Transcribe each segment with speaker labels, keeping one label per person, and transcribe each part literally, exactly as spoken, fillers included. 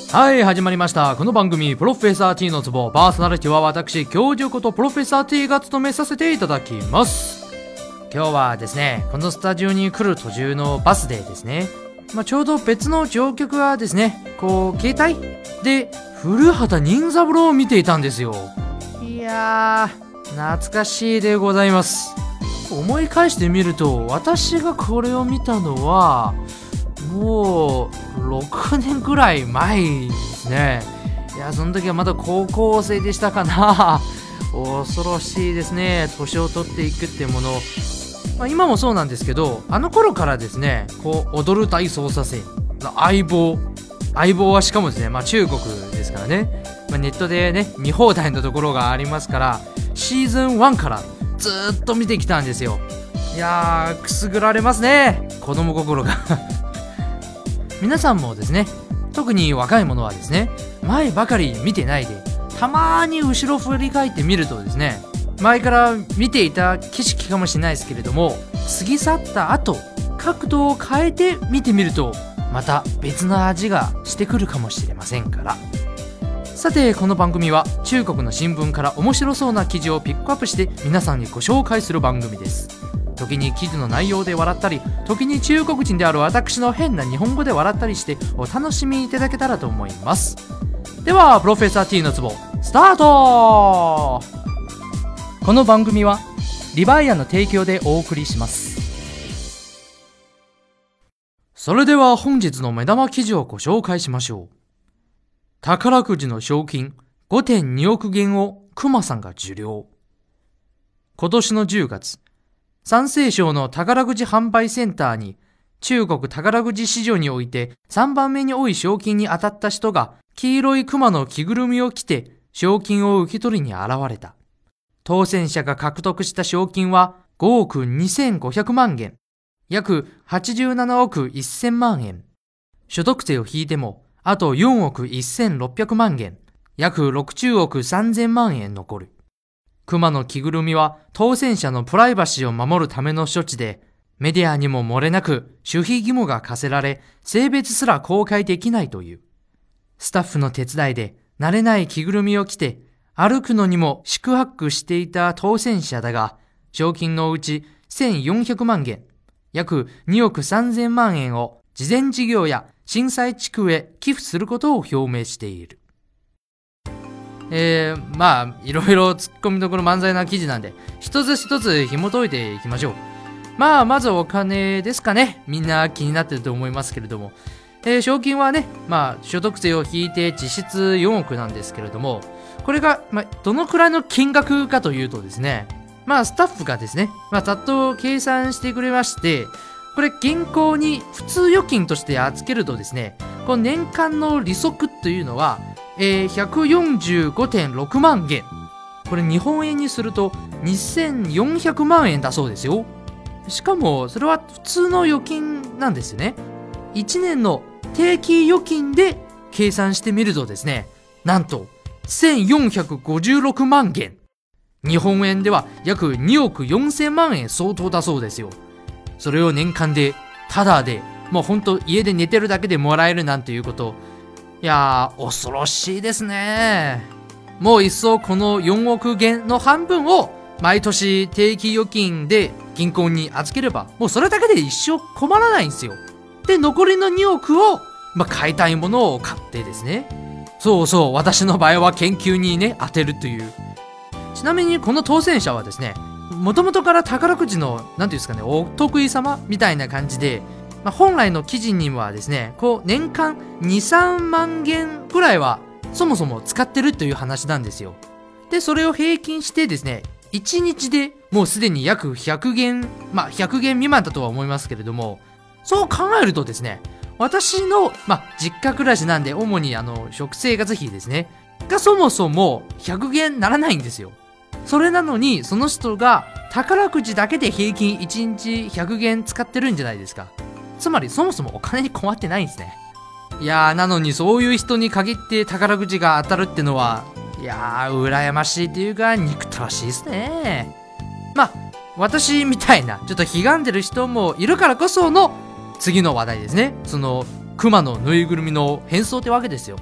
Speaker 1: はい、始まりました。この番組、プロフェッサー T のツボ、パーソナリティは私、教授ことプロフェッサー T が務めさせていただきます。今日はですね、このスタジオに来る途中のバスでですね、まあ、ちょうど別の乗客がですね、こう、携帯で古畑任三郎を見ていたんですよ。いやー、懐かしいでございます。思い返してみると、私がこれを見たのは、もうろくねんくらい前ですね。いや、その時はまだ高校生でしたかな。恐ろしいですね、年を取っていくってもの。まあ、今もそうなんですけど、あの頃からですね、こう踊る大捜査線の相棒相棒はしかもですね、まあ、中国ですからね、まあ、ネットでね見放題のところがありますから、シーズンワンからずーっと見てきたんですよ。いやー、くすぐられますね、子供心が皆さんもですね、特に若い者はですね、前ばかり見てないで、たまーに後ろ振り返ってみるとですね、前から見ていた景色かもしれないですけれども、過ぎ去った後、角度を変えて見てみると、また別の味がしてくるかもしれませんから。さて、この番組は中国の新聞から面白そうな記事をピックアップして皆さんにご紹介する番組です。時に記事の内容で笑ったり、時に中国人である私の変な日本語で笑ったりしてお楽しみいただけたらと思います。では、プロフェッサー T のツボスタート。この番組はリバイアの提供でお送りします。それでは本日の目玉記事をご紹介しましょう。宝くじの賞金 ごてんにおく元をクマさんが受領。今年のじゅうがつ、山西省の宝くじ販売センターに、中国宝くじ市場においてさんばんめに多い賞金に当たった人が黄色いクマの着ぐるみを着て賞金を受け取りに現れた。当選者が獲得した賞金はごおくにせんごひゃくまん元、約はちじゅうななおくせんまん円。所得税を引いてもあとよんおくせんろっぴゃくまん元、約ろくじゅうおくさんぜんまん円残る。熊の着ぐるみは当選者のプライバシーを守るための処置で、メディアにも漏れなく守秘義務が課せられ、性別すら公開できないという。スタッフの手伝いで慣れない着ぐるみを着て歩くのにも四苦八苦していた当選者だが、賞金のうちせんよんひゃくまん元、約におくさんぜんまん円を慈善事業や震災地区へ寄付することを表明している。えー、まあいろいろ突っ込みどころ満載な記事なんで、一つ一つ紐解いていきましょう。まあまずお金ですかね。みんな気になってると思いますけれども、えー、賞金はね、まあ所得税を引いて実質よんおくなんですけれども、これが、まあ、どのくらいの金額かというとですね、まあスタッフがですね、まあざっと計算してくれまして、これ銀行に普通預金として預けるとですね、この年間の利息というのは、えー、ひゃくよんじゅうごてんろくまん元。これ日本円にするとにせんよんひゃくまん円だそうですよ。しかもそれは普通の預金なんですよね。いちねんの定期預金で計算してみるとですね、なんとせんよんひゃくごじゅうろくまん元。日本円では約におくよんせんまん円相当だそうですよ。それを年間でタダで、もうほんと家で寝てるだけでもらえるなんていうこと、いやー、恐ろしいですね。もう一層このよんおく元の半分を毎年定期預金で銀行に預ければ、もうそれだけで一生困らないんですよ。で、残りのにおくを、まあ、買いたいものを買ってですね。そうそう、私の場合は研究にね、当てるという。ちなみにこの当選者はですね、もともとから宝くじの、なんていうんですかね、お得意様みたいな感じで、まあ、本来の記事にはですね、こう年間に、さんまん元くらいはそもそも使ってるという話なんですよ。で、それを平均してですね、いちにちでもうすでに約ひゃく元、まあひゃく元未満だとは思いますけれども、そう考えるとですね、私の、まあ実家暮らしなんで主にあの食生活費ですね、がそもそもひゃく元ならないんですよ。それなのにその人が宝くじだけで平均いちにちひゃく元使ってるんじゃないですか。つまりそもそもお金に困ってないんですね。いやー、なのにそういう人に限って宝くじが当たるってのは、いやー、羨ましいというか憎たらしいですね。まあ私みたいなちょっとひがんでる人もいるからこその次の話題ですね。その熊のぬいぐるみの変装ってわけですよ。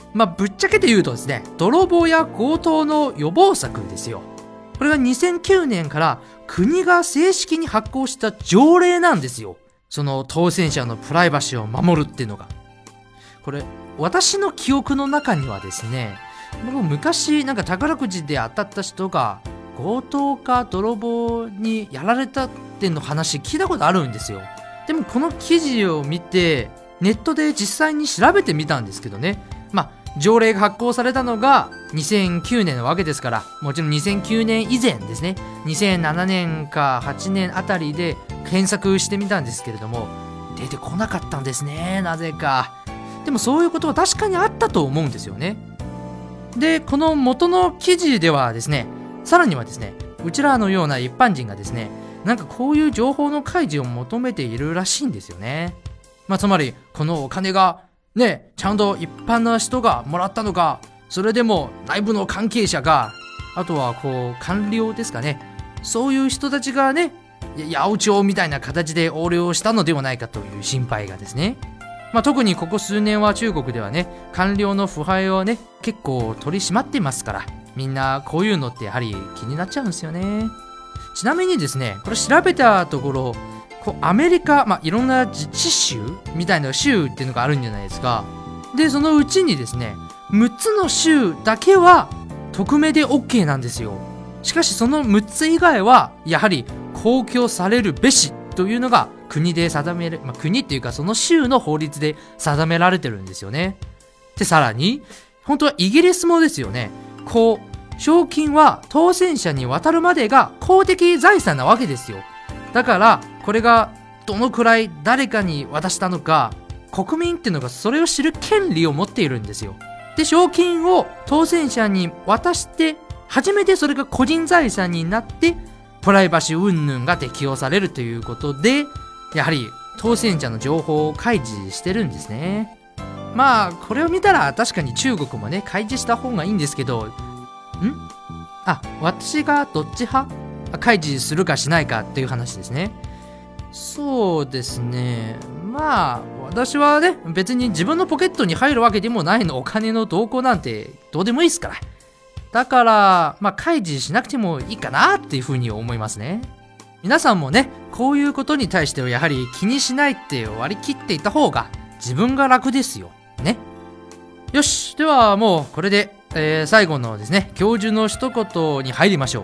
Speaker 1: まあぶっちゃけて言うとですね、泥棒や強盗の予防策ですよ。これがにせんきゅうねんから国が正式に発行した条例なんですよ。その当選者のプライバシーを守るっていうのが。これ私の記憶の中にはですね、僕昔なんか宝くじで当たった人が強盗か泥棒にやられたっての話聞いたことあるんですよ。でもこの記事を見てネットで実際に調べてみたんですけどね、まあ条例が発行されたのがにせんきゅうねんのわけですから、もちろんにせんきゅうねん以前ですね、にせんななねんかはちねんあたりで検索してみたんですけれども、出てこなかったんですね、なぜか。でもそういうことは確かにあったと思うんですよね。で、この元の記事ではですね、さらにはですね、うちらのような一般人がですね、なんかこういう情報の開示を求めているらしいんですよね。まあつまりこのお金がね、ちゃんと一般の人がもらったのか、それでも内部の関係者が、あとはこう官僚ですかね、そういう人たちがね、八百長みたいな形で横領したのではないかという心配がですね。まあ特にここ数年は中国ではね、官僚の腐敗をね、結構取り締まってますから、みんなこういうのってやはり気になっちゃうんですよね。ちなみにですね、これ調べたところ、こうアメリカ、まあいろんな自治州みたいな州っていうのがあるんじゃないですか。で、そのうちにですね、むっつの州だけは匿名で OK なんですよ。しかしそのむっつ以外はやはり公表されるべしというのが国で定める、まあ、国っていうかその州の法律で定められてるんですよね。で、さらに本当はイギリスもですよね、こう賞金は当選者に渡るまでが公的財産なわけですよ。だからこれがどのくらい誰かに渡したのか、国民っていうのがそれを知る権利を持っているんですよ。で、賞金を当選者に渡して初めてそれが個人財産になってプライバシー云々が適用されるということで、やはり当選者の情報を開示してるんですね。まあこれを見たら確かに中国もね開示した方がいいんですけど、んあ、私がどっち派？開示するかしないかっていう話ですね。そうですね、まあ私はね別に自分のポケットに入るわけでもないの、お金の動向なんてどうでもいいですから。だからまあ開示しなくてもいいかなっていうふうに思いますね。皆さんもねこういうことに対してはやはり気にしないって割り切っていた方が自分が楽ですよね。よし、ではもうこれで、えー、最後のですね教授の一言に入りましょう。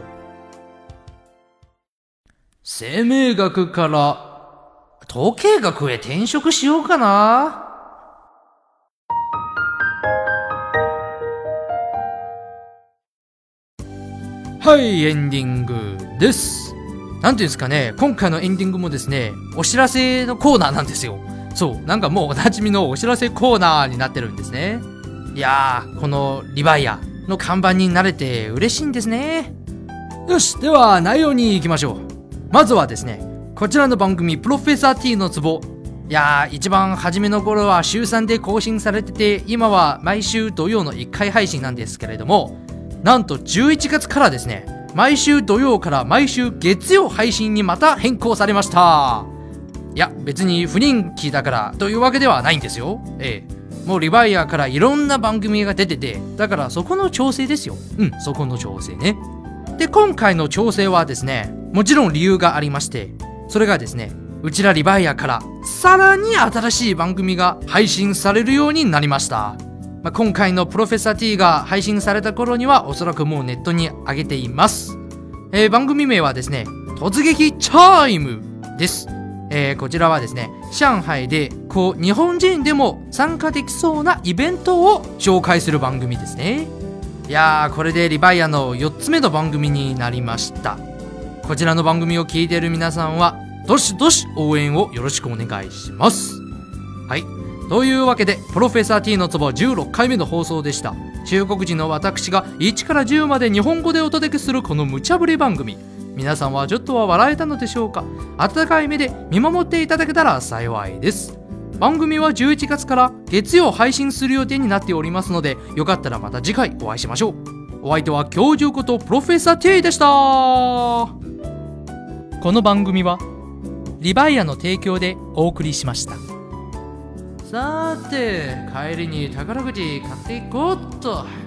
Speaker 1: 生命学から統計学へ転職しようかな。はい、エンディングです。なんていうんですかね、今回のエンディングもですねお知らせのコーナーなんですよ。そう、なんかもうおなじみのお知らせコーナーになってるんですね。いやー、このリバイアの看板になれて嬉しいんですね。よし、では内容に行きましょう。まずはですね、こちらの番組プロフェッサー T のツボ、いやー、一番初めの頃は週さんで更新されてて、今は毎週土曜のいっかい配信なんですけれども、なんとじゅういちがつからですね、毎週土曜から毎週月曜配信にまた変更されました。いや、別に不人気だからというわけではないんですよ。ええ、もうリバイアからいろんな番組が出てて、だからそこの調整ですよ。うん、そこの調整ね。で、今回の調整はですね、もちろん理由がありまして、それがですね、うちらリバイアからさらに新しい番組が配信されるようになりました。まあ、今回のプロフェッサー T が配信された頃にはおそらくもうネットに上げています。えー、番組名はですね、突撃チャイムです。えー、こちらはですね、上海でこう日本人でも参加できそうなイベントを紹介する番組ですね。いやー、これでリバイアのよっつめの番組になりました。こちらの番組を聞いている皆さんはどしどし応援をよろしくお願いします。はい、というわけでプロフェッサー T のツボじゅうろっかいめの放送でした。中国人の私がいちからじゅうまで日本語でお届けするこの無茶ぶり番組、皆さんはちょっとは笑えたのでしょうか。温かい目で見守っていただけたら幸いです。番組はじゅういちがつから月曜配信する予定になっておりますので、よかったらまた次回お会いしましょう。お相手は教授ことプロフェッサー T でした。この番組はリバイアの提供でお送りしました。 さて帰りに宝くじ買っていこうっと。